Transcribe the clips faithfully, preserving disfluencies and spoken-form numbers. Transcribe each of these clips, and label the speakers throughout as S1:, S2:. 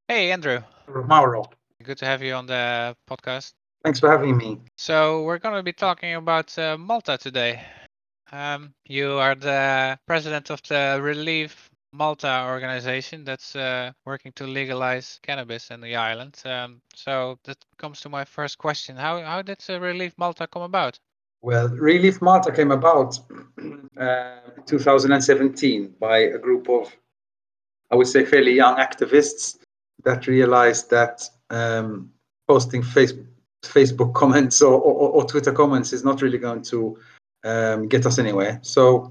S1: Hey, Andrew.
S2: Mauro.
S1: Good to have you on the podcast.
S2: Thanks for having me.
S1: So, we're going to be talking about uh, Malta today. Um, you are the president of the Relief Malta organization that's uh, working to legalize cannabis in the island. Um, so, that comes to my first question. How, how did uh, Relief Malta come about?
S2: Well, Relief Malta came about uh, in two thousand seventeen by a group of, I would say, fairly young activists that realized that um, posting Facebook, Facebook comments or, or, or Twitter comments is not really going to um, get us anywhere. So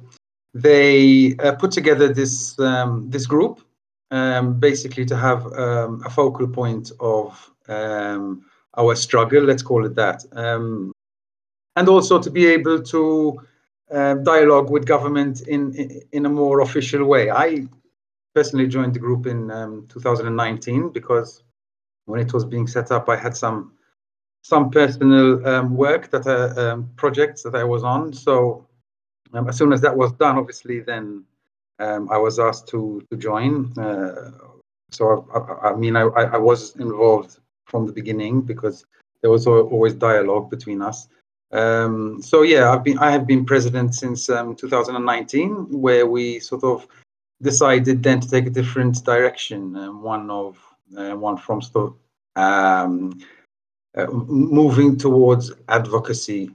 S2: they uh, put together this um, this group um, basically to have um, a focal point of um, our struggle. Let's call it that. Um, and also to be able to uh, dialogue with government in, in in a more official way. I personally joined the group in um, two thousand nineteen because when it was being set up, I had some some personal um, work that uh, um, projects that I was on. So um, as soon as that was done, obviously, then um, I was asked to to join. Uh, so I, I, I mean, I, I was involved from the beginning because there was always dialogue between us. Um, so yeah, I've been I have been president since um, two thousand nineteen, where we sort of decided then to take a different direction, um, one of uh, one from sort of um, uh, moving towards advocacy,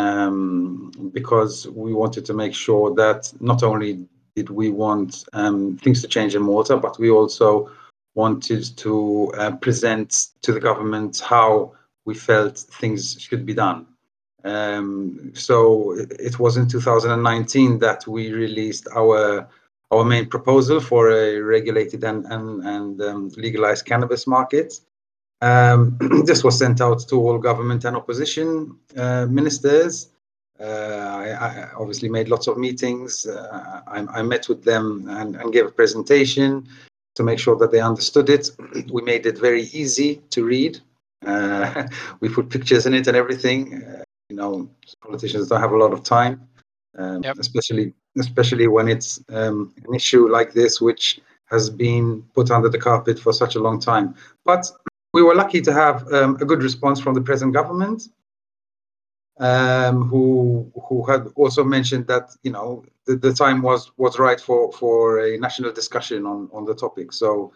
S2: um, because we wanted to make sure that not only did we want um, things to change in Malta, but we also wanted to uh, present to the government how we felt things should be done. Um, so it, it was in two thousand nineteen that we released our our main proposal for a regulated and and, and um, legalized cannabis market. Um, this was sent out to all government and opposition uh, ministers. Uh, I, I obviously made lots of meetings. Uh, I, I met with them and, and gave a presentation to make sure that they understood it. We made it very easy to read. Uh, we put pictures in it and everything. Uh, you know, politicians don't have a lot of time, um,
S1: Yep.
S2: especially especially when it's um, an issue like this, which has been put under the carpet for such a long time. But we were lucky to have um, a good response from the present government, um, who who had also mentioned that you know the, the time was was right for for a national discussion on on the topic. So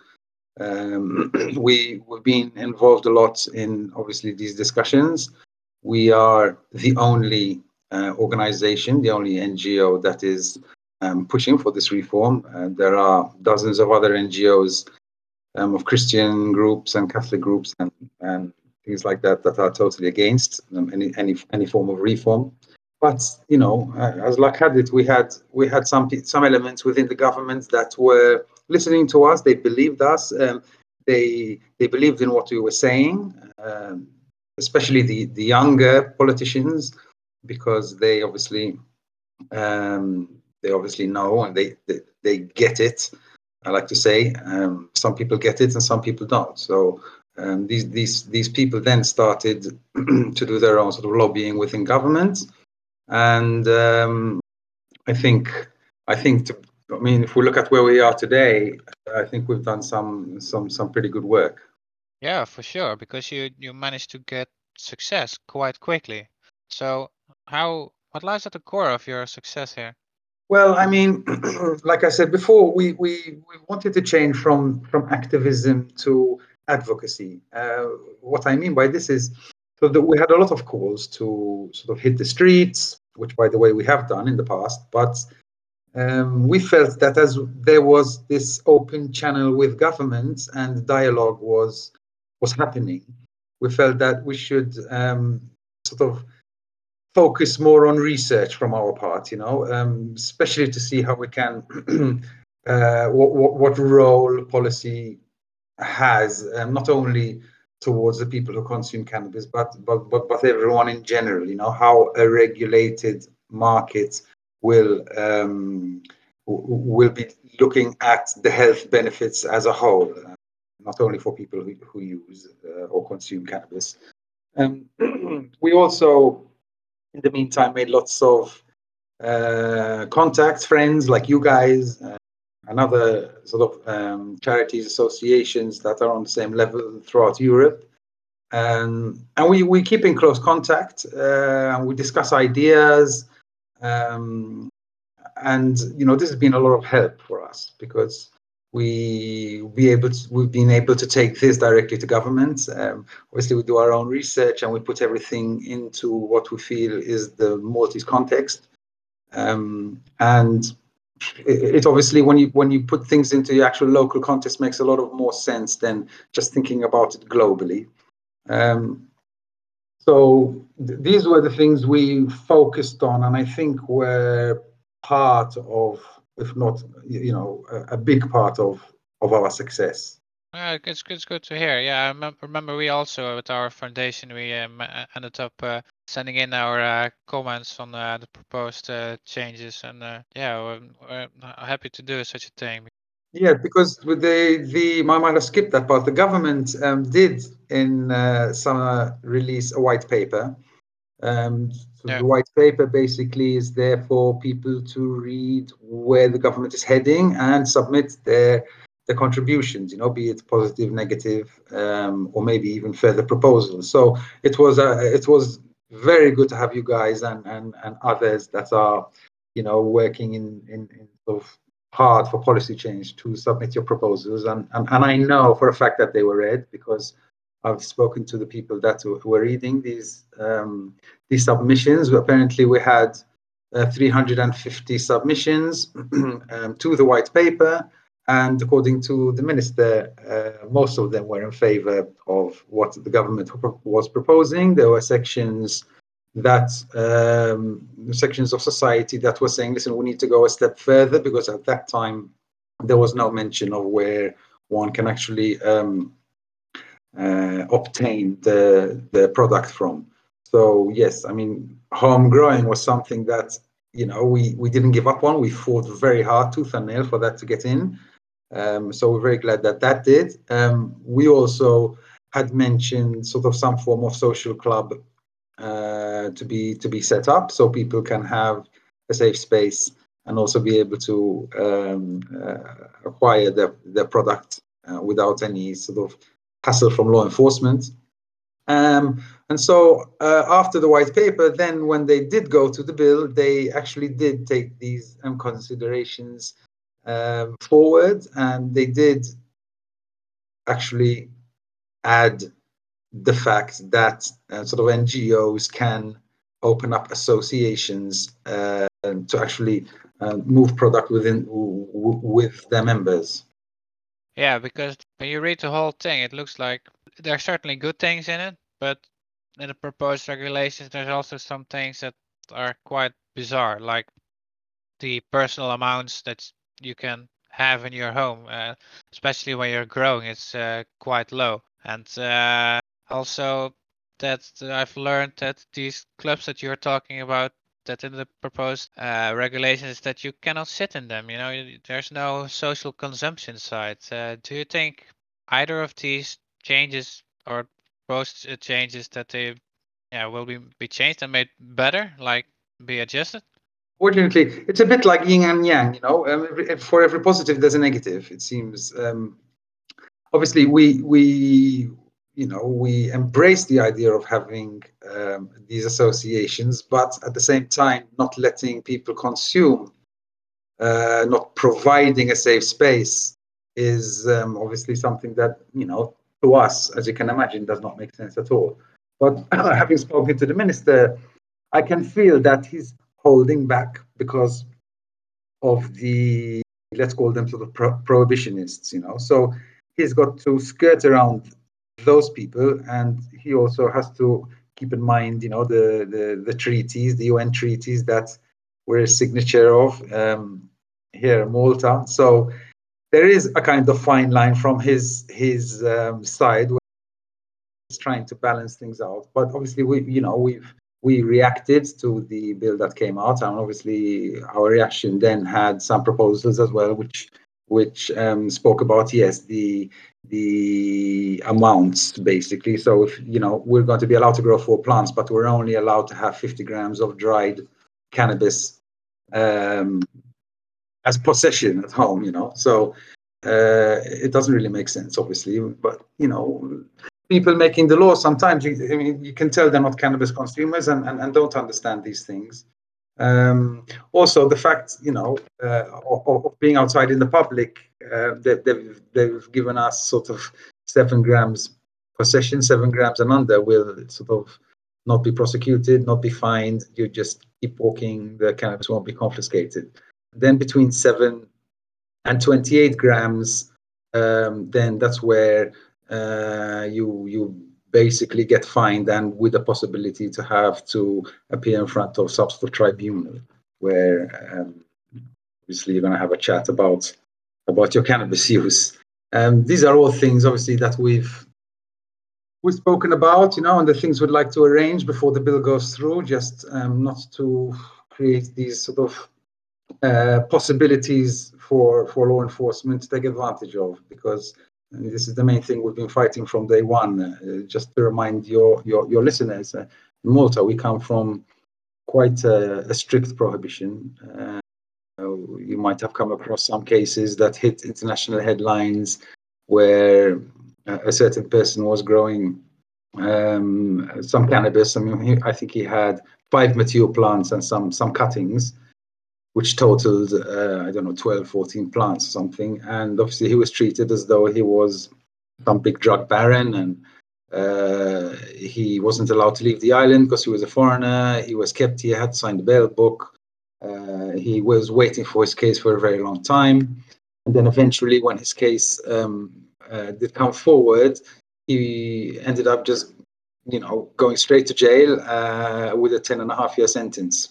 S2: um, we we've been involved a lot in obviously these discussions. We are the only uh, organization, the only N G O that is um, pushing for this reform. Uh, there are dozens of other N G Os um, of Christian groups and Catholic groups and, and things like that that are totally against um, any any any form of reform. But you know, uh, as luck had it, we had we had some some elements within the government that were listening to us. They believed us. Um, they they believed in what we were saying, um, especially the the younger politicians, because they obviously um, they obviously know and they, they they get it. I like to say um, some people get it and some people don't. So um, these these these people then started to do their own sort of lobbying within government, and um, I think I think to, I mean if we look at where we are today, I think we've done some some some pretty good work.
S1: Yeah, for sure, because you, you managed to get success quite quickly. So, how what lies at the core of your success here?
S2: Well, I mean, like I said before, we, we, we wanted to change from, from activism to advocacy. Uh, what I mean by this is so that we had a lot of calls to sort of hit the streets, which, by the way, we have done in the past. But um, we felt that as there was this open channel with government and dialogue was was happening, we felt that we should um, sort of focus more on research from our part, you know, um, especially to see how we can, uh, what, what, what role policy has, um, not only towards the people who consume cannabis, but, but, but, but everyone in general, you know, how a regulated market will, um, will be looking at the health benefits as a whole, uh, not only for people who, who use uh, or consume cannabis. Um, we also in the meantime made lots of uh, contacts, friends like you guys, uh, and other sort of um, charities, associations that are on the same level throughout Europe. Um, and we, we keep in close contact, uh, and we discuss ideas. Um, and, you know, this has been a lot of help for us because we be able to, we've been able to take this directly to government. Um, obviously, we do our own research and we put everything into what we feel is the Maltese context. Um, and it, it obviously, when you when you put things into the actual local context, makes a lot of more sense than just thinking about it globally. Um, so th- these were the things we focused on, and I think were part of, if not, you know, a, a big part of of our success.
S1: Uh, it's, it's good to hear. Yeah, I remem- remember we also, with our foundation, we um, uh, ended up uh, sending in our uh, comments on uh, the proposed uh, changes. And uh, yeah, we're, we're happy to do such a thing.
S2: Yeah, because with the the I might have skipped that part. The government um, did in uh, summer release a white paper. Um, so
S1: Yeah.
S2: the white paper basically is there for people to read where the government is heading and submit their their contributions. You know, be it positive, negative, um, or maybe even further proposals. So it was uh, it was very good to have you guys and and and others that are, you know, working in in, in sort of hard for policy change to submit your proposals, and, and and I know for a fact that they were read because I've spoken to the people that were reading these um, these submissions. Apparently, we had uh, three hundred fifty submissions um, to the white paper, and according to the minister, uh, most of them were in favour of what the government was proposing. There were sections that um, sections of society that were saying, listen, we need to go a step further, because at that time there was no mention of where one can actually um, uh, obtain the the product from. So yes, I mean, home growing was something that, you know, we we didn't give up on. We fought very hard, tooth and nail, for that to get in. Um, so we're very glad that that did. Um, we also had mentioned sort of some form of social club uh, to be to be set up, so people can have a safe space and also be able to um, uh, acquire their their product uh, without any sort of hassle from law enforcement. Um, and so uh, after the white paper, then when they did go to the bill, they actually did take these um, considerations um, forward, and they did actually add the fact that uh, sort of N G Os can open up associations uh, to actually uh, move product within w- w- with their members.
S1: Yeah, because when you read the whole thing, it looks like there are certainly good things in it, but in the proposed regulations, there's also some things that are quite bizarre, like the personal amounts that you can have in your home, uh, especially when you're growing, it's uh, quite low. And uh, also that I've learned that these clubs that you're talking about, that in the proposed uh, regulations, that you cannot sit in them. You know, you- there's no social consumption side. Uh, do you think either of these changes or proposed uh, changes that they yeah will be be changed and made better, like be adjusted?
S2: Fortunately, it's a bit like yin and yang. You know, um, every, for every positive, there's a negative. It seems. Um, obviously, we we you know we embrace the idea of having um, these associations, but at the same time, not letting people consume, uh, not providing a safe space, is um, obviously something that, you know, to us, as you can imagine, does not make sense at all. But having spoken to the minister, I can feel that he's holding back because of the, let's call them sort of pro- prohibitionists, you know. So he's got to skirt around those people, and he also has to keep in mind, you know, the the, the treaties, the U N treaties that we're a signature of um, here in Malta. So there is a kind of fine line from his his um, side, where he's trying to balance things out. But obviously, we, you know, we've we reacted to the bill that came out, and obviously our reaction then had some proposals as well, which which um, spoke about, yes, the the amounts basically. So if, you know, we're going to be allowed to grow four plants, but we're only allowed to have fifty grams of dried cannabis um, as possession at home, you know. So uh, it doesn't really make sense, obviously. But you know, people making the law sometimes, you, I mean, you can tell they're not cannabis consumers and, and, and don't understand these things. Um, also, the fact, you know, uh, of, of being outside in the public, uh, they, they've they've given us sort of seven grams possession, seven grams and under will sort of not be prosecuted, not be fined. You just keep walking, the cannabis won't be confiscated. Then between seven and twenty-eight grams, um, then that's where uh, you you basically get fined, and with the possibility to have to appear in front of substance tribunal, where um, obviously you're going to have a chat about about your cannabis use. Um, these are all things, obviously, that we've we've spoken about, you know, and the things we'd like to arrange before the bill goes through, just um, not to create these sort of uh, possibilities for for law enforcement to take advantage of, because this is the main thing we've been fighting from day one. Uh, just to remind your your, your listeners, uh, in Malta we come from quite a, a strict prohibition. Uh, you might have come across some cases that hit international headlines where a certain person was growing um, some cannabis. I mean, he, I think he had five mature plants and some some cuttings, which totaled, uh, I don't know, twelve, fourteen plants or something. And obviously he was treated as though he was some big drug baron, and uh, he wasn't allowed to leave the island because he was a foreigner. He was kept here, had to sign the bail book. Uh, he was waiting for his case for a very long time. And then eventually when his case um, uh, did come forward, he ended up just, you know, going straight to jail uh, with a ten and a half year sentence.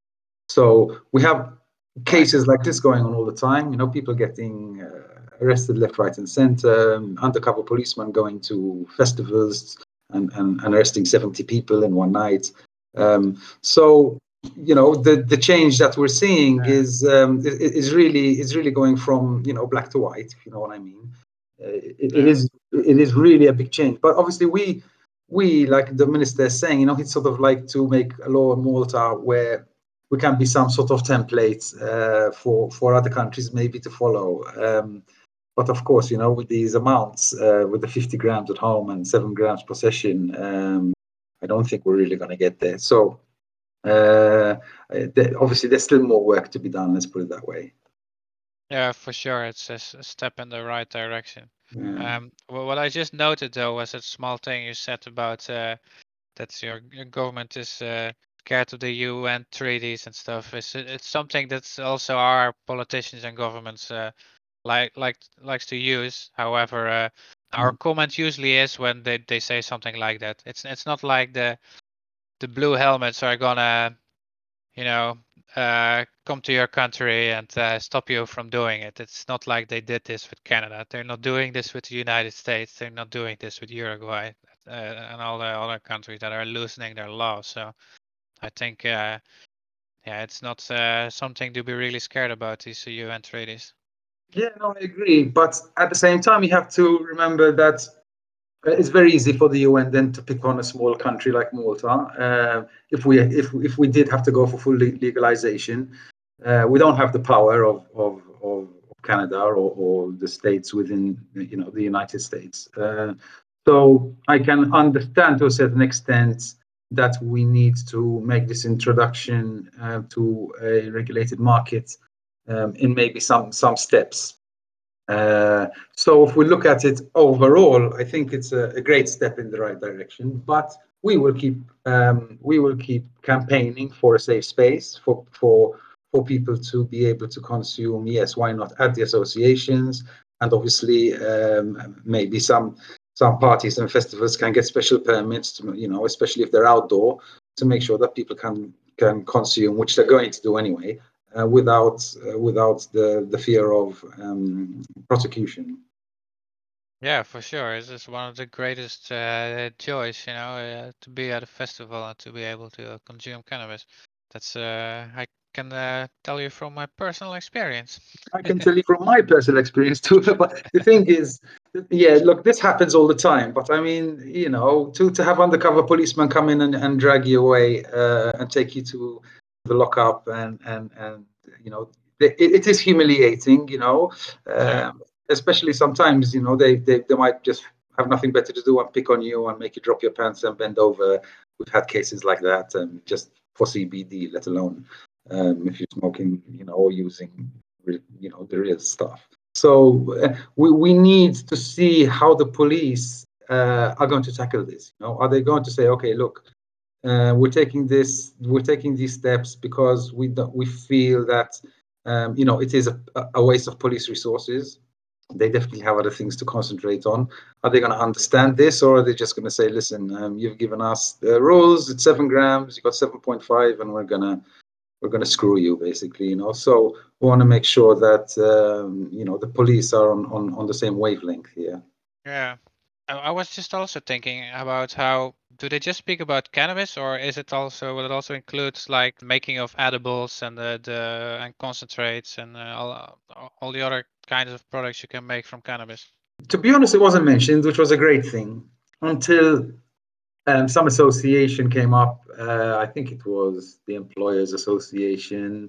S2: So we have cases like this going on all the time. You know, people getting uh, arrested left, right, and center. Um, undercover policemen going to festivals and, and, and arresting seventy people in one night. Um, so you know, the the change that we're seeing
S1: Yeah.
S2: is um, is, is really is really going from, you know, black to white, if you know what I mean. Uh, it, it
S1: Yeah.
S2: is it is really a big change. But obviously we we like the minister is saying, you know, he'd sort of like to make a law in Malta where we can be some sort of template uh, for for other countries maybe to follow. Um, but of course, you know, with these amounts, uh, with the fifty grams at home and seven grams possession, um, I don't think we're really going to get there. So uh, th- obviously, there's still more work to be done. Let's put it that way.
S1: Yeah, for sure. It's a, s- a step in the right direction.
S2: Yeah.
S1: Um, wh- what I just noted though was a small thing you said about uh, that your, your government is uh, scared of the U N treaties and stuff. It's it's something that's also our politicians and governments uh, like like likes to use. However, uh, our
S2: Mm.
S1: comment usually is when they, they say something like that. It's it's not like the the blue helmets are gonna, you know, uh, come to your country and uh, stop you from doing it. It's not like they did this with Canada. They're not doing this with the United States. They're not doing this with Uruguay uh, and all the other countries that are loosening their laws. So I think, uh, yeah, it's not uh, something to be really scared about, these U N treaties.
S2: Yeah, no, I agree. But at the same time, you have to remember that it's very easy for the U N then to pick on a small country like Malta. Uh, if we if if we did have to go for full legalization, uh, we don't have the power of of, of Canada or, or the states within, you know, the United States. Uh, so I can understand to a certain extent that we need to make this introduction uh, to a regulated market um, in maybe some some steps. Uh, so if we look at it overall, I think it's a, a great step in the right direction. But we will keep um, we will keep campaigning for a safe space for for for people to be able to consume. Yes, why not at the associations? And obviously, um, maybe some some parties and festivals can get special permits to, you know, especially if they're outdoor, to make sure that people can can consume, which they're going to do anyway, uh, without uh, without the the fear of um, prosecution.
S1: Yeah, for sure. This is one of the greatest uh, joys, you know, uh, to be at a festival and to be able to uh, consume cannabis. That's uh, I can uh, tell you from my personal experience.
S2: I can tell you from my personal experience too. But the thing is, yeah, look, this happens all the time. But I mean, you know, to to have undercover policemen come in and, and drag you away uh, and take you to the lockup and and and you know, it, it is humiliating, you know,
S1: Yeah.
S2: um, especially sometimes, you know, they, they, they might just have nothing better to do and pick on you and make you drop your pants and bend over. We've had cases like that, um, just for C B D, let alone um, if you're smoking, you know, or using, you know, the real stuff. So uh, we, we need to see how the police uh, are going to tackle this. You know, are they going to say, okay, look, uh, we're taking this, we're taking these steps because we don't, we feel that um, you know, it is a, a waste of police resources. They definitely have other things to concentrate on. Are they going to understand this, or are they just going to say, listen, um, you've given us the rules, it's seven grams, you got seven point five, and we're gonna we're gonna screw you, basically, you know? So we want to make sure that um, you know, the police are on, on on the same wavelength here.
S1: Yeah. I, I was just also thinking about how do they just speak about cannabis, or is it also will it also includes like making of edibles and the, the and concentrates and uh, all all the other kinds of products you can make from cannabis?
S2: To be honest, it wasn't mentioned, which was a great thing, until um, some association came up. Uh, I think it was the Employers Association,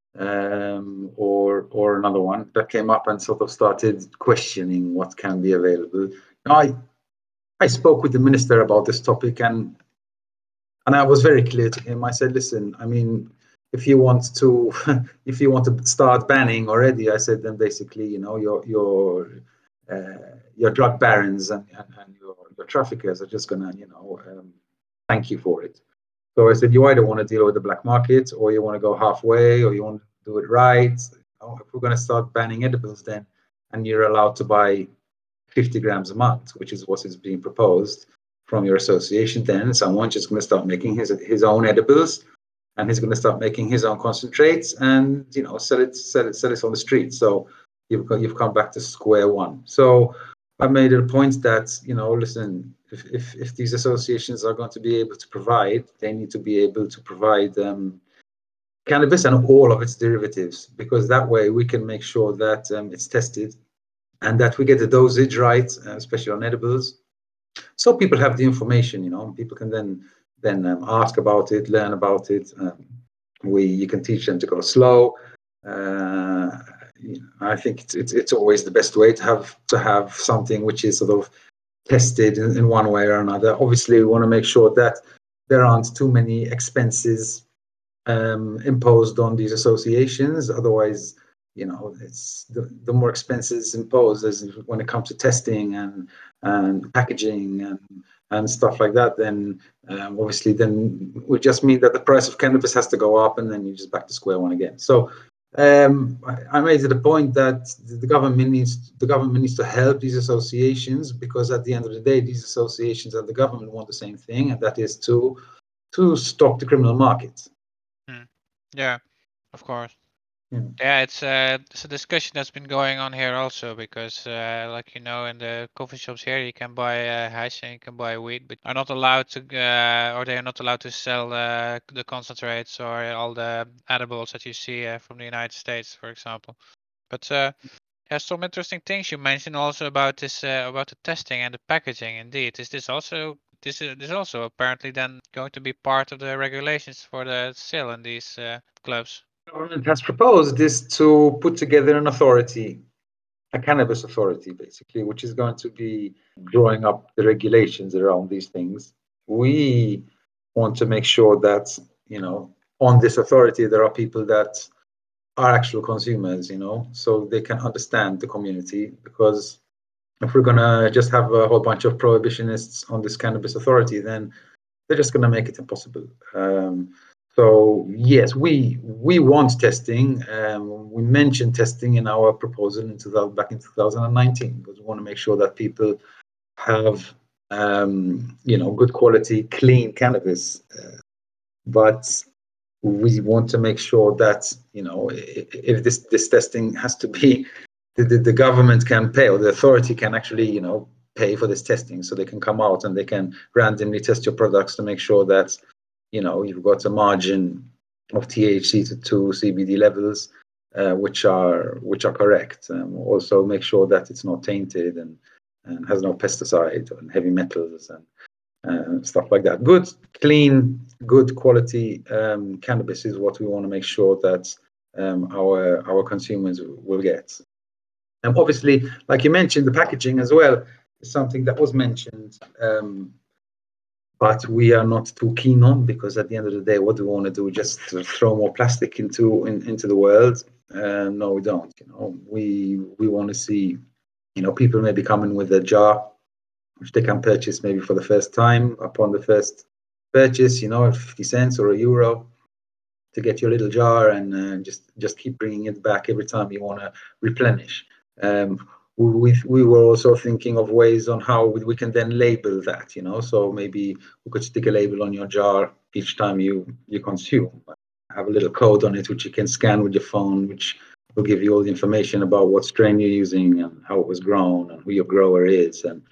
S2: um, or or another one that came up and sort of started questioning what can be available. Now, I I spoke with the minister about this topic, and and I was very clear to him. I said, listen, I mean, if you want to if you want to start banning already, I said, then basically, you know, your your uh, your drug barons and, and, and your, your traffickers are just gonna, you know, um, thank you for it. So I said, you either want to deal with the black market, or you want to go halfway, or you want to do it right. You know, if we're going to start banning edibles, then and you're allowed to buy fifty grams a month, which is what is being proposed from your association, then someone's just going to start making his his own edibles, and he's going to start making his own concentrates, and you know, sell it sell it sell it on the street. So you've you've come back to square one. So I made it a point that, you know, listen, if, if, if these associations are going to be able to provide, they need to be able to provide um, cannabis and all of its derivatives, because that way we can make sure that um, it's tested and that we get the dosage right, uh, especially on edibles. So people have the information, you know, people can then then um, ask about it, learn about it. Um, we you can teach them to go slow. Uh, you know, I think it's, it's it's always the best way to have to have something which is sort of tested in, in one way or another. Obviously, we want to make sure that there aren't too many expenses um, imposed on these associations. Otherwise, you know, it's the, the more expenses imposed as when it comes to testing and and packaging and and stuff like that. Then um, obviously, then would just mean that the price of cannabis has to go up, and then you're just back to square one again. So um, I, I made it a point that the government needs the government needs to help these associations, because at the end of the day, these associations and the government want the same thing, and that is to to stop the criminal market.
S1: Hmm. Yeah, of course.
S2: Yeah.
S1: Yeah, it's uh, it's a discussion that's been going on here also because, uh, like you know, in the coffee shops here, you can buy uh, hash and you can buy weed, but are not allowed to, uh, or they are not allowed to sell uh, the concentrates or all the edibles that you see uh, from the United States, for example. But uh, there's some interesting things you mentioned also about this, uh, about the testing and the packaging. Indeed, is this also this is this is also apparently then going to be part of the regulations for the sale in these uh, clubs?
S2: The government has proposed is to put together an authority, a cannabis authority, basically, which is going to be drawing up the regulations around these things. We want to make sure that, you know, on this authority, there are people that are actual consumers, you know, so they can understand the community. Because if we're going to just have a whole bunch of prohibitionists on this cannabis authority, then they're just going to make it impossible. Um, so yes, we we want testing. Um, we mentioned testing in our proposal in two thousand, back in two thousand nineteen, because we want to make sure that people have um, you know, good quality, clean cannabis. Uh, but we want to make sure that, you know, if this this testing has to be, the, the, the government can pay, or the authority can actually, you know, pay for this testing, so they can come out and they can randomly test your products to make sure that, you know, you've got a margin of T H C to, to C B D levels uh, which are which are correct. Um, also make sure that it's not tainted and and has no pesticide and heavy metals and uh, stuff like that. Good, clean, good quality um, cannabis is what we want to make sure that um, our our consumers will get. And obviously, like you mentioned, the packaging as well is something that was mentioned, um, but we are not too keen on, because at the end of the day, what do we want to do? Just throw more plastic into in, into the world? Uh, no, we don't. You know, we we want to see, you know, people maybe coming with a jar, which they can purchase maybe for the first time upon the first purchase. You know, fifty cents or a euro, to get your little jar, and uh, just just keep bringing it back every time you want to replenish. Um, we, we were also thinking of ways on how we can then label that, you know, so maybe we could stick a label on your jar each time you you consume, have a little code on it which you can scan with your phone, which will give you all the information about what strain you're using and how it was grown and who your grower is, and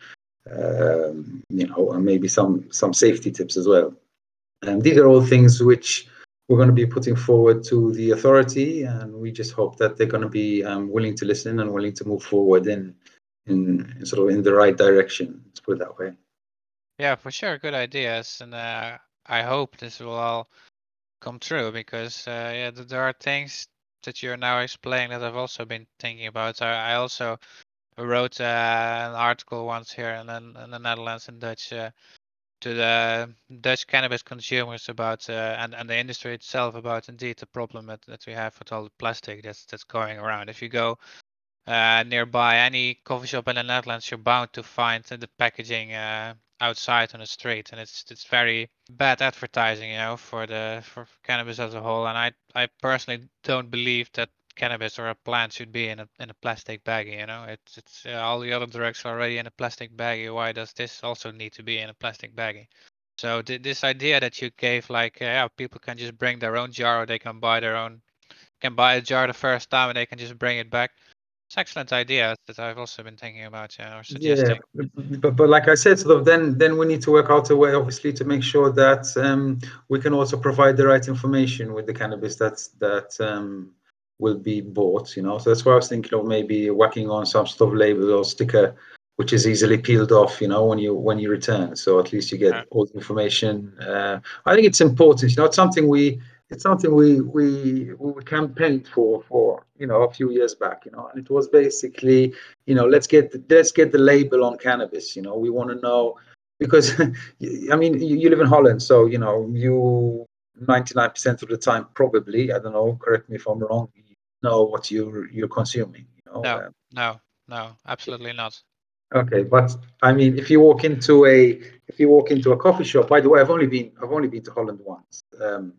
S2: um, you know, and maybe some some safety tips as well. And these are all things which we're going to be putting forward to the authority, and we just hope that they're going to be um, willing to listen and willing to move forward in, in, in sort of in the right direction. Let's put it that way.
S1: Yeah, for sure, good ideas, and uh, I hope this will all come true, because uh, yeah, th- there are things that you're now explaining that I've also been thinking about. I, I also wrote uh, an article once here in, in the Netherlands in Dutch. Uh, to the Dutch cannabis consumers about uh, and and the industry itself about indeed the problem that, that we have with all the plastic that's that's going around. If you go uh, nearby any coffee shop in the Netherlands, you're bound to find the packaging uh, outside on the street, and it's it's very bad advertising, you know, for the for cannabis as a whole. And I I personally don't believe that cannabis or a plant should be in a in a plastic baggie. You know, it's it's uh, all the other drugs are already in a plastic baggie. Why does this also need to be in a plastic baggie? So th- this idea that you gave, like, uh, yeah, people can just bring their own jar, or they can buy their own, can buy a jar the first time, and they can just bring it back. It's excellent idea that I've also been thinking about, yeah, or
S2: Yeah,
S1: suggesting.
S2: but, but like I said, sort of then then we need to work out a way, obviously, to make sure that um, we can also provide the right information with the cannabis that's that um, will be bought. You know, so that's why I was thinking of maybe whacking on some sort of label or sticker, which is easily peeled off. You know, when you when you return, so at least you
S1: Uh,
S2: get all the information. Uh, I think it's important. You know, it's something we it's something we we we campaigned for for you know a few years back. You know, and it was basically, you know, let's get the, let's get the label on cannabis. You know, we want to know, because I mean, you, you live in Holland, so you know, you ninety-nine percent of the time, probably, I don't know, correct me if I'm wrong, you know what you're you're consuming. You know,
S1: no,
S2: uh,
S1: no, no, absolutely not.
S2: okay, but I mean, if you walk into a if you walk into a coffee shop, by the way, I've only been I've only been to Holland once, um,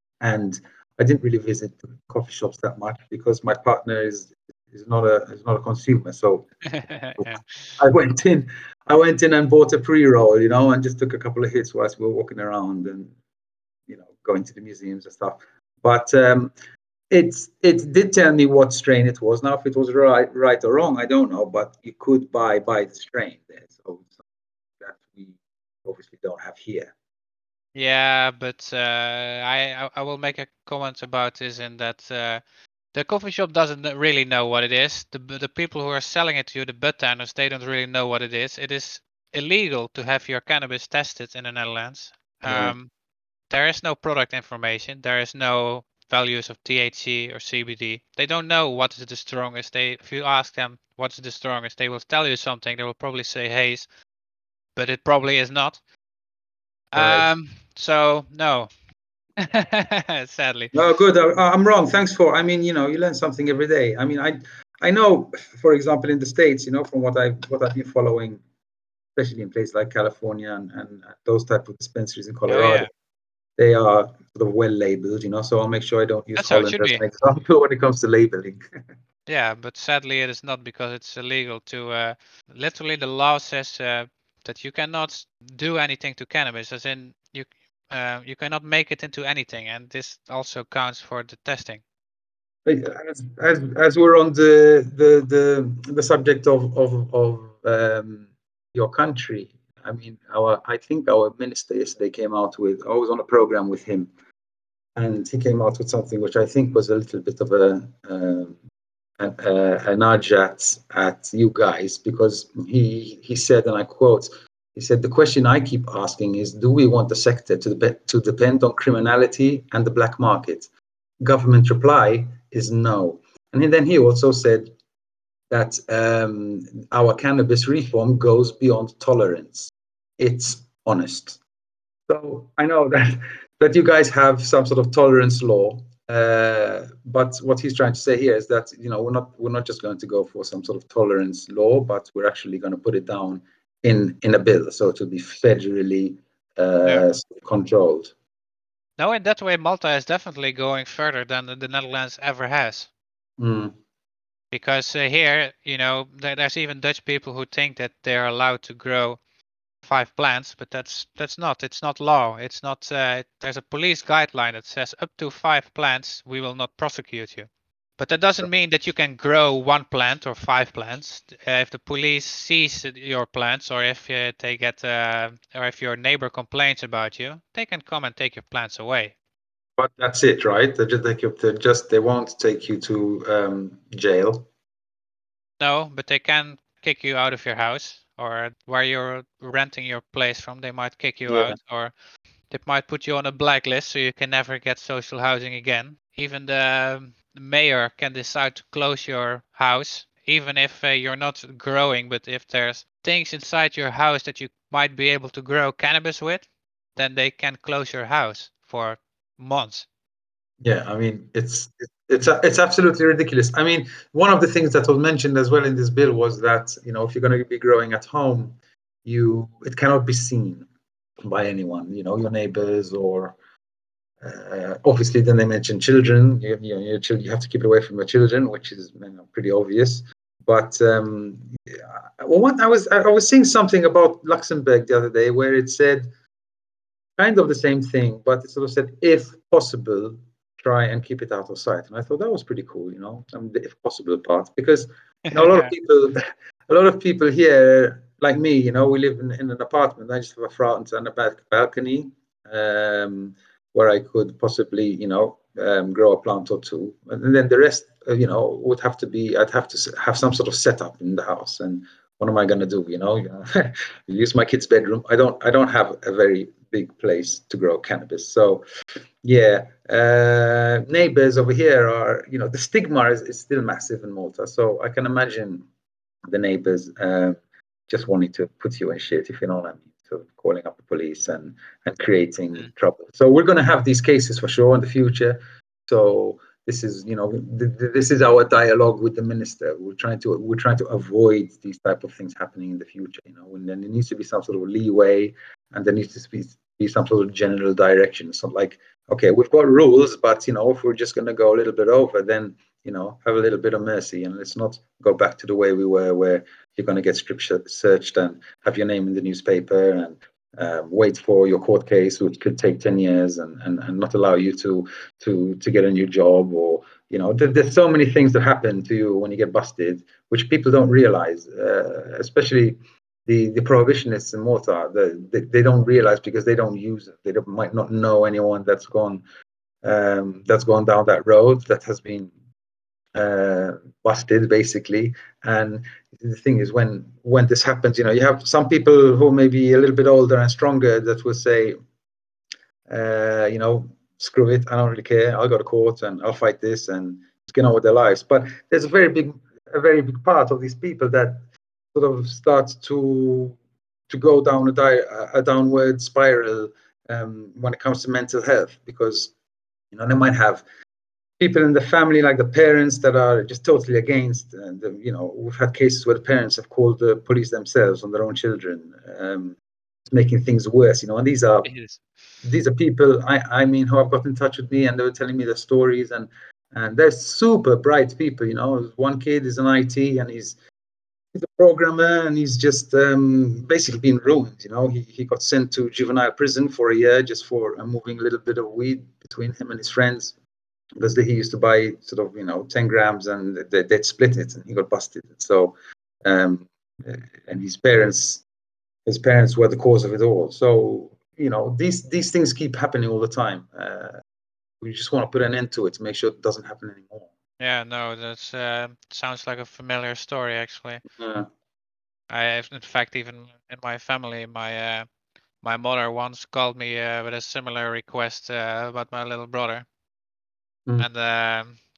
S2: and I didn't really visit coffee shops that much because my partner is is not a is not a consumer, so
S1: Yeah.
S2: I went in, I went in and bought a pre-roll, you know, and just took a couple of hits whilst we were walking around and, you know, going to the museums and stuff. But um, it's it did tell me what strain it was. Now, if it was right, right or wrong, I don't know. But you could buy buy the strain there, so that we obviously don't have here.
S1: Yeah, but uh, I I I will make a comment about this, in that uh, the coffee shop doesn't kn- really know what it is. The b- the people who are selling it to you, the bud tenders, they don't really know what it is. It is illegal to have your cannabis tested in the Netherlands.
S2: Right.
S1: Um, there is no product information. There is no values of T H C or C B D. They don't know what is the strongest. They, if you ask them what's the strongest, they will tell you something. They will probably say haze, but it probably is not.
S2: Right.
S1: Um, so no, sadly.
S2: No, good. I, I'm wrong. Thanks for. I mean, you know, you learn something every day. I mean, I I know, for example, in the States, you know, from what I've what I've been following, especially in places like California and, and those type of dispensaries in
S1: Oh
S2: Colorado,
S1: yeah,
S2: they are sort of well labeled, you know. So I'll make sure I don't use
S1: that's how it
S2: Holland
S1: should
S2: as
S1: be.
S2: an example when it comes to labeling.
S1: Yeah, but sadly it is not, because it's illegal to. Uh, literally, the law says uh, that you cannot do anything to cannabis, as in you uh, you cannot make it into anything, and this also counts for the testing.
S2: as, as as we're on the the the, the subject of of, of um, your country, I mean, our I think our minister yesterday came out with. I was on a program with him, and he came out with something which I think was a little bit of a um, a, a, a nudge at at you guys, because he he said, and I quote, he said, the question I keep asking is, do we want the sector to, to depend on criminality and the black market? Government reply, is no. And then he also said that um, our cannabis reform goes beyond tolerance. It's honest. So I know that that you guys have some sort of tolerance law, uh, but what he's trying to say here is that you know we're not we're not just going to go for some sort of tolerance law, but we're actually going to put it down in in a bill, so to be federally uh,
S1: Yeah.
S2: controlled.
S1: No, in that way, Malta is definitely going further than the the Netherlands ever has.
S2: Mm.
S1: Because uh, here, you know, there, there's even Dutch people who think that they're allowed to grow five plants, but that's that's not. It's not law. It's not. Uh, there's a police guideline that says up to five plants, we will not prosecute you. But that doesn't mean that you can grow one plant or five plants. Uh, if the police sees your plants, or if uh, they get, uh, or if your neighbor complains about you, they can come and take your plants away.
S2: But that's it, right? They just take you to just they won't take you to um, jail.
S1: No, but they can kick you out of your house, or where you're renting your place from. They might kick you
S2: Yeah.
S1: out, or they might put you on a blacklist so you can never get social housing again. Even the mayor can decide to close your house, even if uh, you're not growing, but if there's things inside your house that you might be able to grow cannabis with, then they can close your house for months.
S2: Yeah, I mean, it's it's it's absolutely ridiculous. I mean, one of the things that was mentioned as well in this bill was that, you know, if you're going to be growing at home, you it cannot be seen by anyone, you know, your neighbors or uh, obviously then they mentioned children. You, you know, your children, you have to keep it away from your children, which is, you know, pretty obvious. But um, yeah, well, what I was I was seeing something about Luxembourg the other day where it said kind of the same thing, but it sort of said, if possible, try and keep it out of sight. And I thought that was pretty cool, you know, I mean, the if possible part, because you know a lot of people, a lot of people here, like me, you know, we live in, in an apartment. I just have a front and a back balcony um, where I could possibly, you know, um, grow a plant or two, and then the rest, uh, you know, would have to be. I'd have to have some sort of setup in the house, and what am I going to do? You know, you know use my kid's bedroom. I don't. I don't have a very big place to grow cannabis. So, yeah, uh, neighbors over here are. You know, the stigma is, is still massive in Malta. So I can imagine the neighbors uh, just wanting to put you in shit, if you know what I mean. So calling up the police and and creating
S1: Mm.
S2: trouble. So we're going to have these cases for sure in the future. So this is, you know, th- th- this is our dialogue with the minister. We're trying to we're trying to avoid these type of things happening in the future. You know, and then there needs to be some sort of leeway, and there needs to be be some sort of general direction. So like, okay, we've got rules, but you know, if we're just going to go a little bit over, then you know, have a little bit of mercy, and let's not go back to the way we were, where you're going to get strip searched and have your name in the newspaper and um, wait for your court case, which could take ten years, and, and, and not allow you to to to get a new job, or you know, there, there's so many things that happen to you when you get busted, which people don't realize, uh, especially the the prohibitionists in Malta. The, they, they don't realize because they don't use it. They don't, might not know anyone that's gone um, that's gone down that road, that has been uh, busted basically. And the thing is, when when this happens, you know, you have some people who may be a little bit older and stronger that will say, uh, you know, screw it, I don't really care. I'll go to court and I'll fight this and just get on with their lives. But there's a very big, a very big part of these people that sort of starts to to go down a, di- a downward spiral um, when it comes to mental health, because you know they might have people in the family, like the parents, that are just totally against. And uh, you know, we've had cases where the parents have called the police themselves on their own children, um, making things worse. You know, and these are
S1: Yes.
S2: these are people I I mean who have got in touch with me, and they were telling me their stories, and and they're super bright people. You know, one kid is an I T and he's he's a programmer, and he's just um, basically been ruined. You know, he, he got sent to juvenile prison for a year just for uh, moving a little bit of weed between him and his friends, because he used to buy sort of, you know, ten grams, and they, they'd split it, and he got busted. So um, and his parents his parents were the cause of it all. So you know, these these things keep happening all the time. Uh, we just want to put an end to it to make sure it doesn't happen anymore.
S1: Yeah, no, that uh, sounds like a familiar story actually.
S2: Yeah.
S1: I have, in fact, even in my family, my uh, my mother once called me uh, with a similar request uh, about my little brother,
S2: Mm.
S1: and um,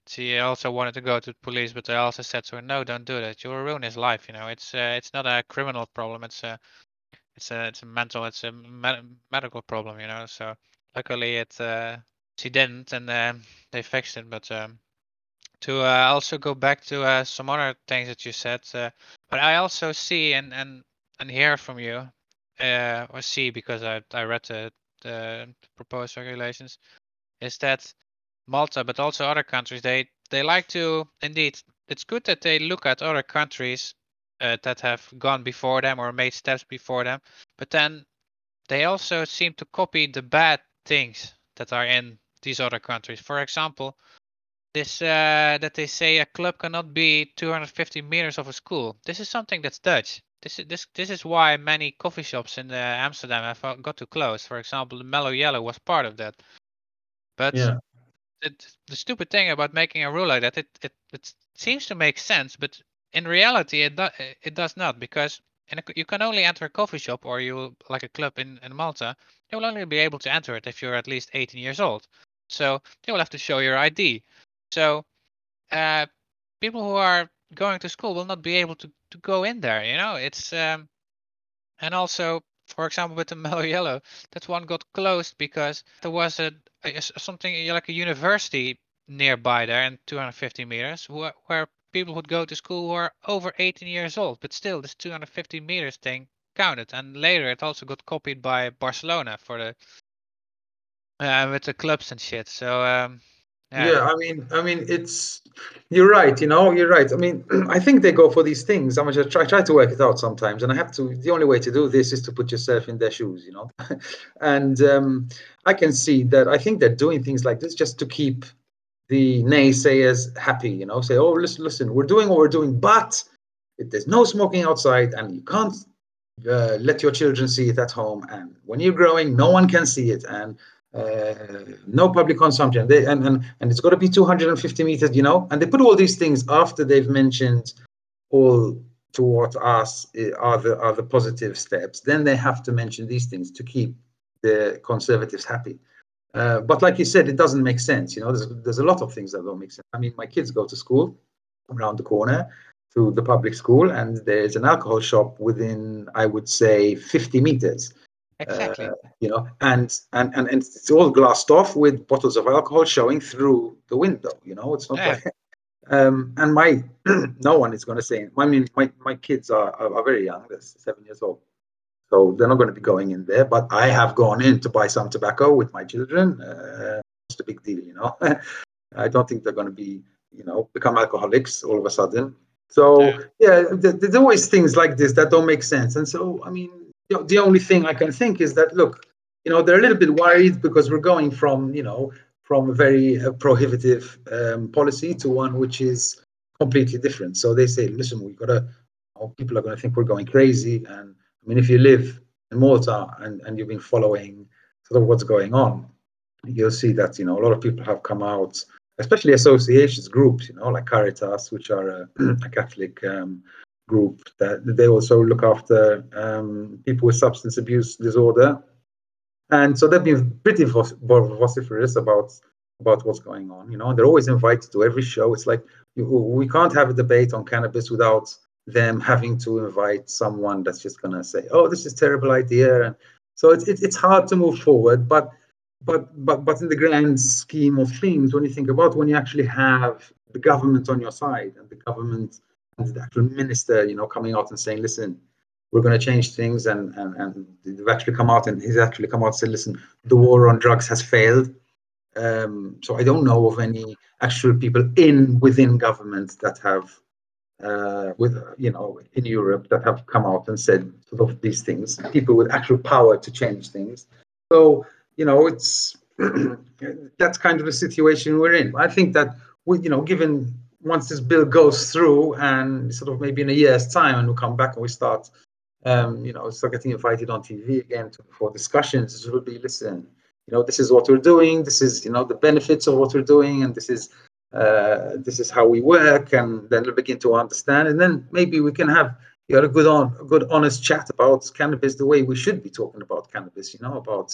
S1: She also wanted to go to the police, but they also said to her, "No, don't do that. You will ruin his life. You know, it's uh, it's not a criminal problem. It's a it's a it's a mental, it's a med- medical problem. You know." So luckily, it uh, she didn't, and um, they fixed it. But um, to uh, also go back to uh, some other things that you said, uh, but I also see and and and hear from you, uh, or see because I I read the, the proposed regulations, is that Malta, but also other countries, they they like to indeed. It's good that they look at other countries uh, that have gone before them or made steps before them, but then they also seem to copy the bad things that are in these other countries. For example, this uh, that they say a club cannot be two hundred fifty meters of a school. This is something that's Dutch. This is this this is why many coffee shops in uh, Amsterdam have uh, got to close. For example, the Mellow Yellow was part of that. But
S2: Yeah.
S1: it, the stupid thing about making a rule like that, it, it it seems to make sense, but in reality, it do, it does not, because in a, you can only enter a coffee shop or you like a club in, in Malta. You will only be able to enter it if you're at least eighteen years old. So you will have to show your I D. So uh, people who are going to school will not be able to, to go in there. You know, it's um, and also, for example, with the Mellow Yellow, that one got closed because there was a, a s- something like a university nearby there in two hundred fifty meters where, where people would go to school who are over eighteen years old. But still, this two hundred fifty meters thing counted. And later, it also got copied by Barcelona for the uh, with the clubs and shit. So um, yeah,
S2: Yeah, I mean, I mean, it's you're right. You know, you're right. I mean, I think they go for these things. I mean, I try, try to work it out sometimes, and I have to. The only way to do this is to put yourself in their shoes. You know, and um, I can see that. I think they're doing things like this just to keep the naysayers happy. You know, say, oh, listen, listen, we're doing what we're doing, but if there's no smoking outside, and you can't uh, let your children see it at home, and when you're growing, no one can see it, and uh, no public consumption. They, and, and, and it's got to be two hundred fifty meters, you know, and they put all these things after they've mentioned all to what us are the, are the positive steps. Then they have to mention these things to keep the conservatives happy. Uh, but like you said, it doesn't make sense. You know, there's, there's a lot of things that don't make sense. I mean, my kids go to school around the corner to the public school, and there's an alcohol shop within, I would say, fifty meters. Uh,
S1: exactly.
S2: you know, and, and and and it's all glassed off with bottles of alcohol showing through the window. You know, it's not
S1: Yeah,
S2: like. Um, and my no one is going to say. I mean, my my kids are, are are very young. They're seven years old, so they're not going to be going in there. But I have gone in to buy some tobacco with my children. Uh, it's a big deal, you know. I don't think they're going to be, you know, become alcoholics all of a sudden. So
S1: yeah,
S2: yeah, th- there's always things like this that don't make sense. And so, I mean, you know, the only thing I can think is that look, you know, they're a little bit worried because we're going from, you know, from a very uh, prohibitive um, policy to one which is completely different. So they say, listen, we've got to, you know, people are going to think we're going crazy. And I mean, if you live in Malta and, and you've been following sort of what's going on, you'll see that, you know, a lot of people have come out, especially associations, groups, you know, like Caritas, which are a, a Catholic um, group, that they also look after um, people with substance abuse disorder. And so they've been pretty vociferous about about what's going on. You know, they're always invited to every show. It's like you, we can't have a debate on cannabis without them having to invite someone that's just going to say, "Oh, this is a terrible idea." And so it's it, it's hard to move forward. But but but but in the grand scheme of things, when you think about when you actually have the government on your side and the government and the actual minister, you know, coming out and saying, "Listen, we're going to change things," and and and they've actually come out and he's actually come out and said, "Listen, the war on drugs has failed." Um, so I don't know of any actual people in within government that have, uh, with you know, in Europe that have come out and said sort of these things. People with actual power to change things. So you know, it's that's kind of the situation we're in. I think that we, you know, given once this bill goes through and sort of maybe in a year's time, and we come back and we start um, you know, start getting invited on T V again to, for discussions. It will be, listen, you know, this is what we're doing. This is, you know, the benefits of what we're doing, and this is uh, this is how we work. And then we'll begin to understand, and then maybe we can have you know, a good on, a good honest chat about cannabis the way we should be talking about cannabis. You know, about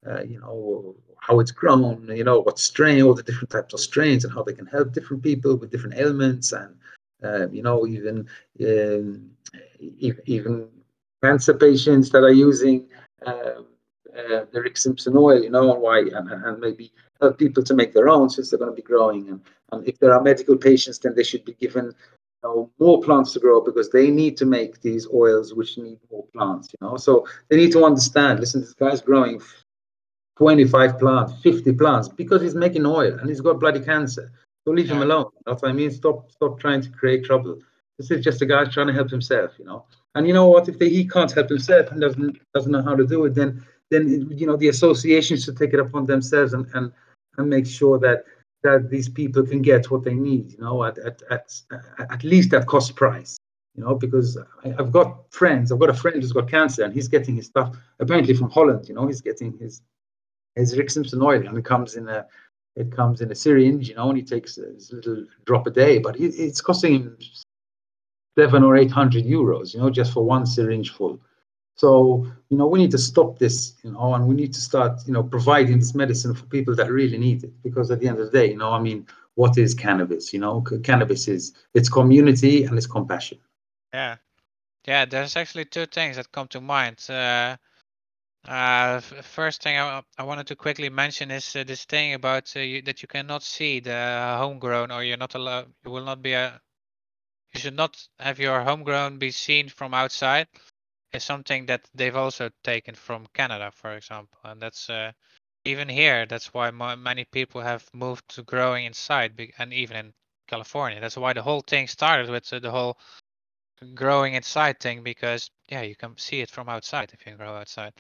S2: uh, you know, how it's grown, you know, what strain, all the different types of strains, and how they can help different people with different ailments, and uh, you know, even um, even cancer patients that are using uh, uh, the Rick Simpson oil, you know, and why, and, and maybe help people to make their own, since they're going to be growing. And, and if there are medical patients, then they should be given, you know, more plants to grow, because they need to make these oils which need more plants, you know. So they need to understand, listen, this guy's growing twenty-five plants, fifty plants, because he's making oil and he's got bloody cancer. So leave
S1: Yeah.
S2: him alone. That's what I mean. Stop, stop trying to create trouble. This is just a guy trying to help himself, you know. And you know what? If they, he can't help himself and doesn't doesn't know how to do it, then then you know the associations should take it upon themselves and and, and make sure that that these people can get what they need, you know, at at at, at least at cost price, you know, because I, I've got friends. I've got a friend who's got cancer, and he's getting his stuff apparently from Holland. You know, he's getting his his Rick Simpson oil, and it comes in a it comes in a syringe, you know, and he takes a little drop a day, but it, it's costing him seven or eight hundred euros, you know, just for one syringe full. So, you know, we need to stop this, you know, and we need to start, you know, providing this medicine for people that really need it. Because at the end of the day, you know, I mean, what is cannabis? You know, C- cannabis is it's community and it's compassion.
S1: Yeah. Yeah, there's actually two things that come to mind. Uh, uh, f- first thing I, I wanted to quickly mention is uh, this thing about uh, you, that you cannot see the homegrown, or you're not allowed, you will not be a, you should not have your homegrown be seen from outside. Is something that they've also taken from Canada, for example, and that's uh, even here. That's why mo- many people have moved to growing inside, be- and even in California. That's why the whole thing started with uh, the whole growing inside thing, because yeah, you can see it from outside if you grow outside.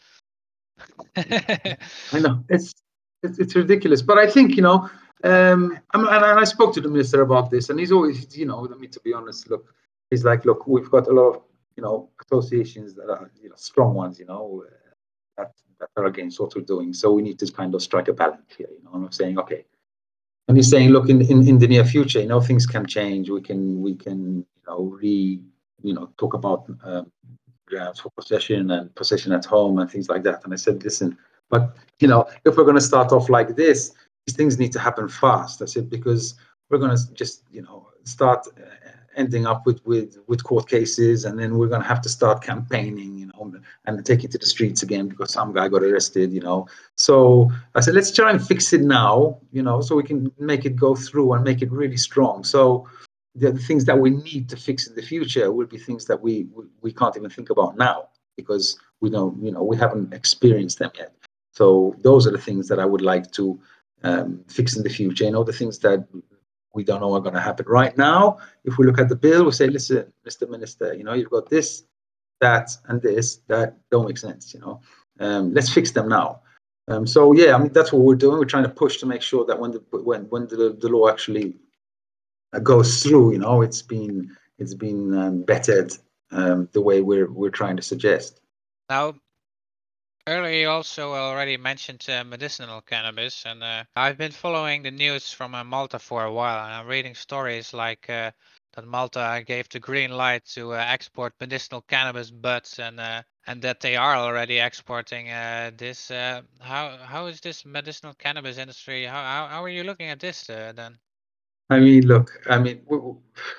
S2: I know it's it's, it's ridiculous, but I think, you know, um, I'm, and I spoke to the minister about this, and he's always, you know, I mean, to be honest, look, he's like, look, we've got a lot of, you know, associations that are, you know, strong ones, you know, uh, that that are against what we're doing, so we need to kind of strike a balance here, you know. And I'm saying, okay, and he's saying, look, in, in in the near future, you know, things can change. We can we can you know re you know talk about um, grounds for possession and possession at home and things like that. And I said, listen, but you know, if we're going to start off like this, these things need to happen fast. I said, because we're going to just you know start uh, ending up with with with court cases, and then we're going to have to start campaigning, you know, and take it to the streets again because some guy got arrested, you know. So I said, let's try and fix it now, you know, so we can make it go through and make it really strong. So the, the things that we need to fix in the future will be things that we, we we can't even think about now, because we don't, you know, we haven't experienced them yet. So those are the things that I would like to um, fix in the future. You know, the things that we don't know are going to happen right now. If we look at the bill, we say, listen, Mister Minister, you know, you've got this, that, and this that don't make sense. You know, um, let's fix them now. Um, so yeah, I mean, that's what we're doing. We're trying to push to make sure that when the when when the, the law actually uh, goes through, you know, it's been it's been um, bettered um, the way we're we're trying to suggest.
S1: Now, earlier you also already mentioned uh, medicinal cannabis, and uh, I've been following the news from uh, Malta for a while, and I'm reading stories like uh, that Malta gave the green light to uh, export medicinal cannabis buds, and uh, and that they are already exporting uh, this. Uh, how how is this medicinal cannabis industry? How how, how are you looking at this uh, then?
S2: I mean, look, I mean, w- w-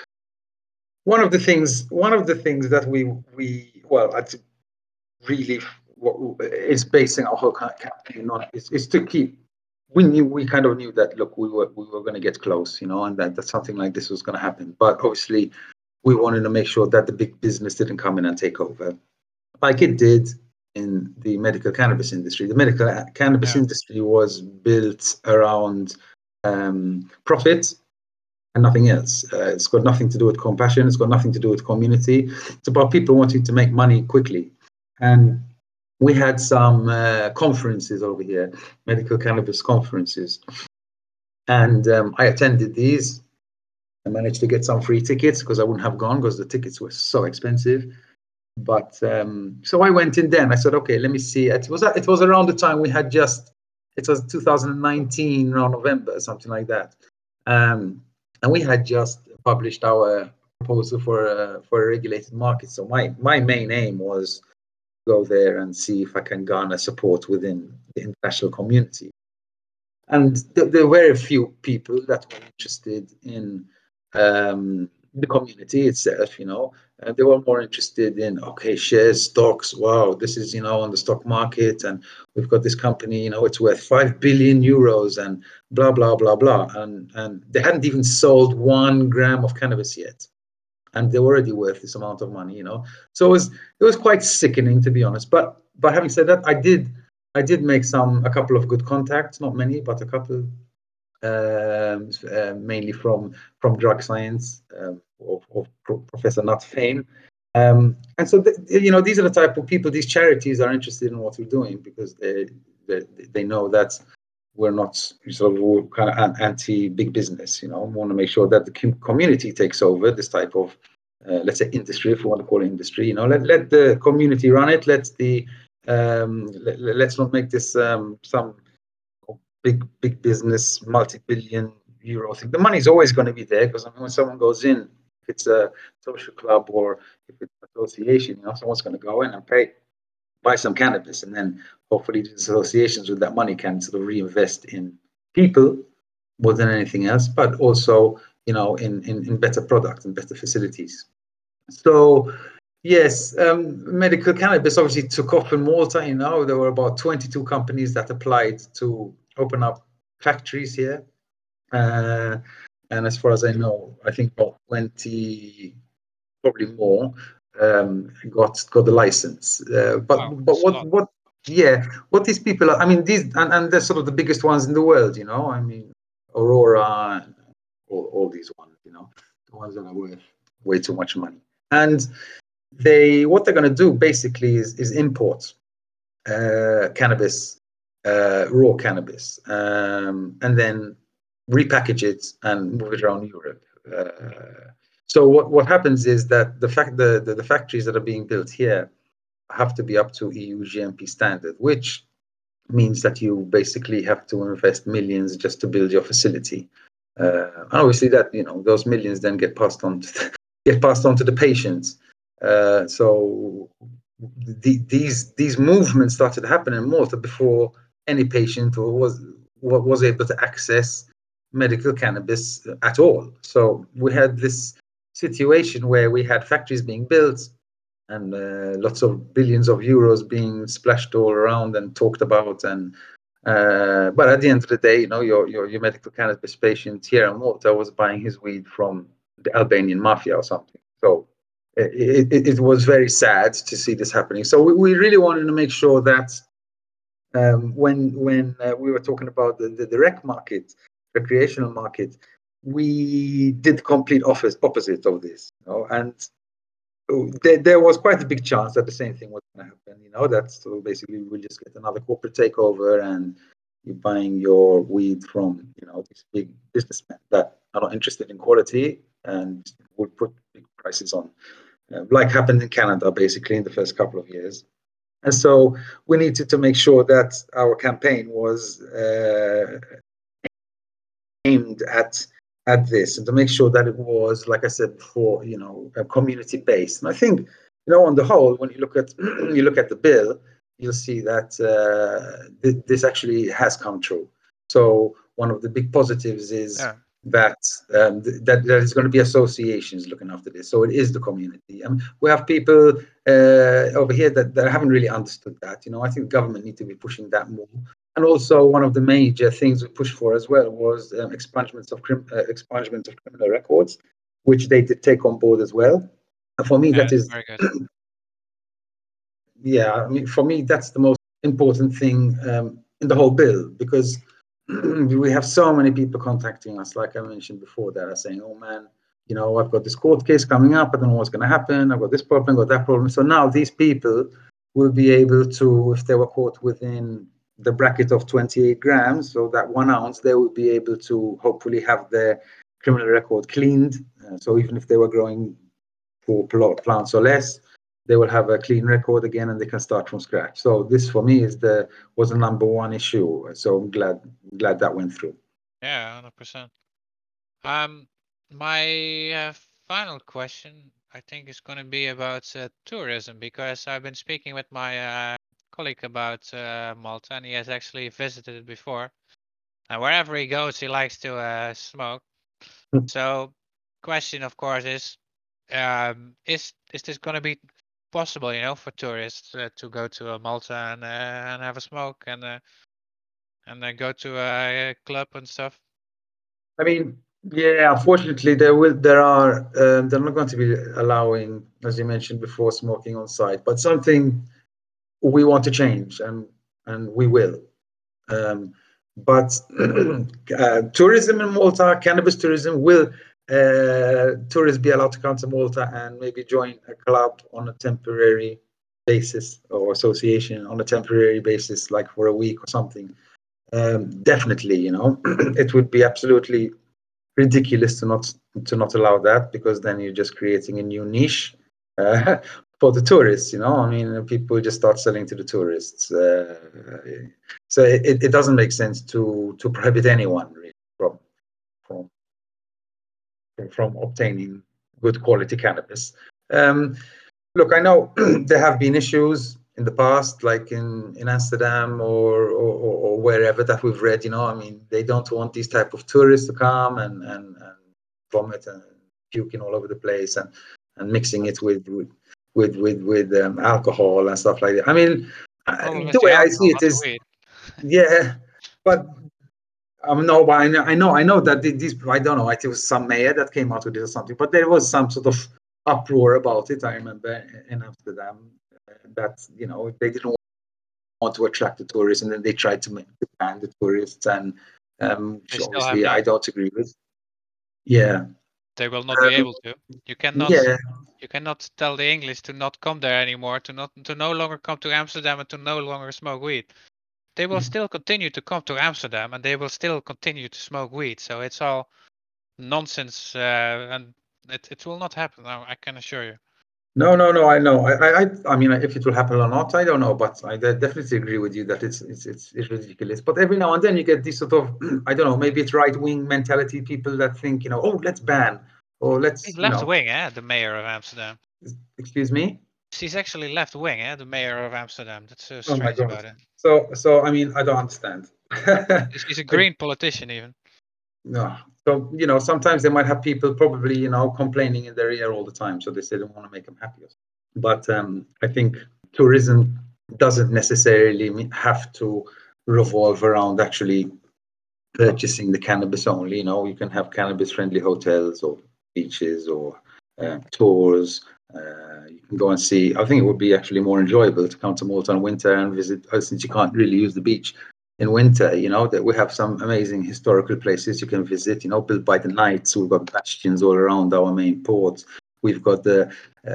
S2: one of the things one of the things that we we well, it's really what is basing our whole campaign on is, is to keep. We knew we kind of knew that look, we were we were going to get close, you know, and that, that something like this was going to happen. But obviously, we wanted to make sure that the big business didn't come in and take over, like it did in the medical cannabis industry. The medical cannabis
S1: Yeah.
S2: industry was built around um, profit and nothing else. Uh, it's got nothing to do with compassion. It's got nothing to do with community. It's about people wanting to make money quickly. And we had some uh, conferences over here, medical cannabis conferences, and um, I attended these. I managed to get some free tickets because I wouldn't have gone because the tickets were so expensive. But um, so I went in then. I said, okay, let me see. It was it was around the time we had just it was two thousand nineteen, around November, something like that, um, and we had just published our proposal for a, for a regulated market. So my my main aim was go there and see if I can garner support within the international community. And th- there were a few people that were interested in um, the community itself, you know. Uh, they were more interested in, okay, shares, stocks. Wow, this is, you know, on the stock market, and we've got this company, you know, it's worth five billion euros, and blah blah blah blah. And and they hadn't even sold one gram of cannabis yet, and they were already worth this amount of money, you know. So it was it was quite sickening, to be honest. But but having said that, I did I did make some a couple of good contacts, not many, but a couple, um, uh, mainly from from drug science, um, of, of Pro- Professor Nat Fame. Um, and so, th- you know, these are the type of people, these charities are interested in what we're doing because they they, they know that we're not sort of kind of anti big business. You know, we want to make sure that the community takes over this type of, uh, let's say, industry, if we want to call it industry. You know, let let the community run it. Let the um, let, let's not make this um, some big big business multi-billion euro thing. The money's always going to be there because I mean, when someone goes in, if it's a social club or if it's an association, you know, someone's going to go in and pay, buy some cannabis, and then hopefully the associations with that money can sort of reinvest in people more than anything else, but also, you know, in in, in better products and better facilities. So yes, um, medical cannabis obviously took off in Malta. You know, there were about twenty-two companies that applied to open up factories here. Uh, and as far as I know, I think about twenty, probably more, um, got got the license. Uh, but
S1: Wow,
S2: but
S1: that's a
S2: what
S1: lot.
S2: what yeah, what these people are, I mean, these and, and they're sort of the biggest ones in the world. You know, I mean, Aurora, and all, all these ones. You know, the ones that are worth way too much money. And they what they're going to do basically is is import uh, cannabis, uh, raw cannabis, um, and then repackage it and move it around Europe. Uh, so what, what happens is that the fact the, the, the factories that are being built here have to be up to E U G M P standard, which means that you basically have to invest millions just to build your facility. Uh, and obviously, that you know those millions then get passed on to the, get passed on to the patients. Uh, so the, these these movements started happening in Malta before any patient or was was able to access medical cannabis at all. So we had this situation where we had factories being built and uh, lots of billions of euros being splashed all around and talked about. And uh, but at the end of the day, you know, your your, your medical cannabis patient here in Malta was buying his weed from the Albanian mafia or something. So it, it, it was very sad to see this happening. So we, we really wanted to make sure that um, when when uh, we were talking about the, the, the rec market, recreational market, we did the complete office, opposite of this. You know? And there, there was quite a big chance that the same thing was going to happen. You know, that so basically we'll just get another corporate takeover and you're buying your weed from, you know, these big businessmen that are not interested in quality and would put big prices on, uh, like happened in Canada, basically in the first couple of years. And so we needed to make sure that our campaign was uh, aimed at at this and to make sure that it was, like I said before, you know, community based. And I think, you know, on the whole, when you look at you look at the bill, you'll see that uh, th- this actually has come true. So one of the big positives is
S1: Yeah.
S2: that um, th- that there is going to be associations looking after this. So it is the community. I mean, we have people uh, over here that, that haven't really understood that. You know, I think government need to be pushing that more. And also, one of the major things we pushed for as well was um, expungements of crim- uh, expungement of criminal records, which they did take on board as well. And for me,
S1: Yeah,
S2: that
S1: that's
S2: is,
S1: very good.
S2: yeah, I mean, for me, that's the most important thing um, in the whole bill because we have so many people contacting us, like I mentioned before, that are saying, "Oh man, you know, I've got this court case coming up. I don't know what's going to happen. I've got this problem, got that problem." So now these people will be able to, if they were caught within the bracket of twenty-eight grams, so that one ounce, they will be able to hopefully have their criminal record cleaned. Uh, so even if they were growing four plants or less, they will have a clean record again and they can start from scratch. So this for me is the was the number one issue. So I'm glad glad that went through.
S1: Yeah, one hundred percent. Um, my uh, final question. I think it's going to be about uh, tourism, because I've been speaking with my uh, colleague about uh, Malta, and he has actually visited it before. And wherever he goes, he likes to uh, smoke. So, question, of course, is um, is is this going to be possible, you know, for tourists uh, to go to uh, Malta and uh, and have a smoke and uh, and then go to a club and stuff?
S2: I mean, yeah, unfortunately, there will there are um, they're not going to be allowing, as you mentioned before, smoking on site. But something we want to change, and and we will. Um, but uh, tourism in Malta, cannabis tourism, will uh, tourists be allowed to come to Malta and maybe join a club on a temporary basis, or association on a temporary basis, like for a week or something? Um, definitely, you know, it would be absolutely ridiculous to not to not allow that, because then you're just creating a new niche uh, for the tourists. You know, I mean, people just start selling to the tourists. Uh, so it, it doesn't make sense to to prohibit anyone really from from from obtaining good quality cannabis. Um, Look, I know there have been issues in the past, like in, in Amsterdam or, or, or wherever that we've read. You know, I mean, they don't want these type of tourists to come and, and, and vomit and puking all over the place, and, and mixing it with with with with, with um, alcohol and stuff like that. I mean,
S1: Problem is
S2: the
S1: the
S2: way I see
S1: alcohol,
S2: it
S1: not the
S2: is,
S1: weed.
S2: yeah, but um, no, but I know, I know, I know that these. I don't know. I think it was some mayor that came out with this or something, but there was some sort of uproar about it. I remember in Amsterdam uh, that, you know, they didn't want to attract the tourists, and then they tried to make to ban the tourists, and um,
S1: They
S2: which
S1: still have
S2: obviously I
S1: done.
S2: don't agree with. Yeah,
S1: They will not be
S2: um,
S1: able to. You cannot
S2: yeah.
S1: you cannot tell the English to not come there anymore, to not to no longer come to Amsterdam and to no longer smoke weed. They will still continue to come to Amsterdam and they will still continue to smoke weed. So it's all nonsense, uh, and it it will not happen. I, I can assure you.
S2: No, no, no. I know. I, I, I mean, if it will happen or not, I don't know. But I de- definitely agree with you that it's, it's, it's, it's ridiculous. But every now and then you get this sort of, I don't know, maybe it's right wing mentality. People that think, you know, oh, let's ban, or
S1: He's
S2: let's, you
S1: left
S2: know,
S1: wing, eh? The mayor of Amsterdam.
S2: excuse me.
S1: She's actually left wing, eh? The mayor of Amsterdam. That's so
S2: Oh my
S1: strange
S2: God.
S1: about it.
S2: So, so I mean, I don't understand.
S1: She's a
S2: I,
S1: green politician, even.
S2: no. So, you know, sometimes they might have people probably, you know, complaining in their ear all the time. So they say they want to make them happy. But um, I think tourism doesn't necessarily have to revolve around actually purchasing the cannabis only. You know, you can have cannabis-friendly hotels or beaches or uh, tours. Uh, you can go and see. I think it would be actually more enjoyable to come to Malta in winter and visit, uh, since you can't really use the beach in winter. You know that we have some amazing historical places you can visit. You know, built by the knights. We've got bastions all around our main ports. We've got the,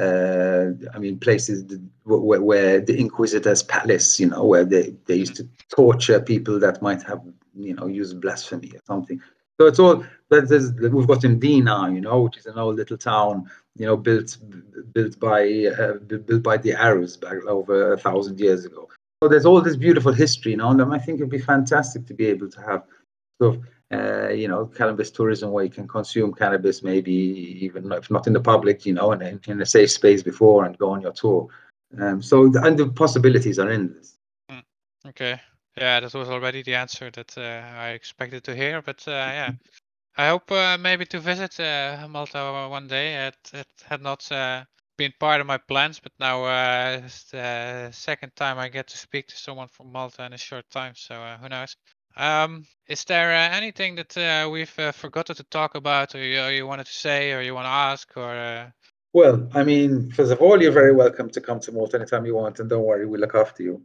S2: uh, I mean, places where, where the Inquisitor's palace, you know, where they, they used to torture people that might have, you know, used blasphemy or something. So it's all, there's, we've got Mdina, you know, which is an old little town, you know, built built by uh, built by the Arabs back over a thousand years ago. So there's all this beautiful history, you know, and I think it'd be fantastic to be able to have sort of uh, you know, cannabis tourism where you can consume cannabis, maybe even if not in the public, you know, and in, in a safe space before and go on your tour. Um, so, the, and the possibilities are endless.
S1: Mm, okay. Yeah, that was already the answer that uh, I expected to hear. But uh, yeah, I hope uh, maybe to visit uh, Malta one day. It, it had not uh, been part of my plans, but now uh, it's the second time I get to speak to someone from Malta in a short time. So uh, who knows? Um, is there uh, anything that uh, we've uh, forgotten to talk about, or you, or you wanted to say, or you want to ask, or? Uh...
S2: Well, I mean, first of all, you're very welcome to come to Malta anytime you want, and don't worry, we'll look after you.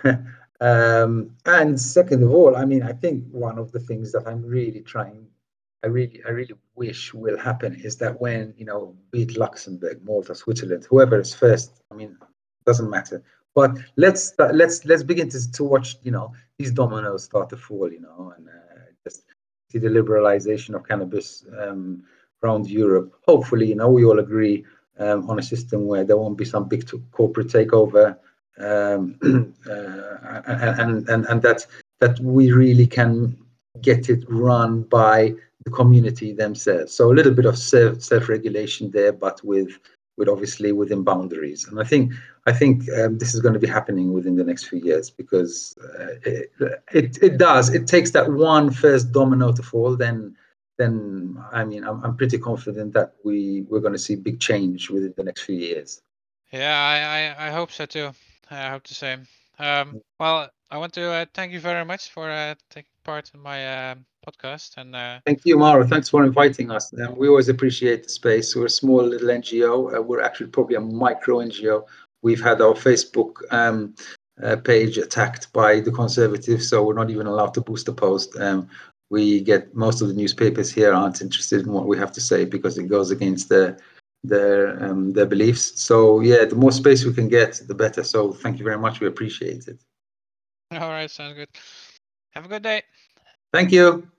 S2: um, and second of all, I mean, I think one of the things that I'm really trying, I really, I really wish will happen is that when, you know, be it Luxembourg, Malta, Switzerland, whoever is first, I mean, doesn't matter. But let's start, let's let's begin to to watch, you know, these dominoes start to fall, you know, and uh, just see the liberalization of cannabis um, around Europe. Hopefully, you know, we all agree um, on a system where there won't be some big t- corporate takeover, um, uh, and, and and that that we really can get it run by the community themselves. So a little bit of self self regulation there, but with with obviously within boundaries. And I think I think um, this is going to be happening within the next few years because uh, it, it it does. It takes that one first domino to fall. Then then I mean I'm I'm pretty confident that we we're going to see big change within the next few years.
S1: Yeah, I, I, I hope so too. I hope the same. Um, well, I want to uh, thank you very much for uh, taking part in my um podcast. And uh,
S2: Thank you, Maro. Thanks for inviting us. Um, we always appreciate the space. We're a small little N G O. Uh, we're actually probably a micro N G O. We've had our Facebook um, uh, page attacked by the Conservatives, so we're not even allowed to boost a post. Um, we get most of the newspapers here aren't interested in what we have to say because it goes against their their um, their beliefs. So yeah, the more space we can get, the better. So thank you very much. We appreciate it.
S1: all right, sounds good. Have a good day.
S2: Thank you.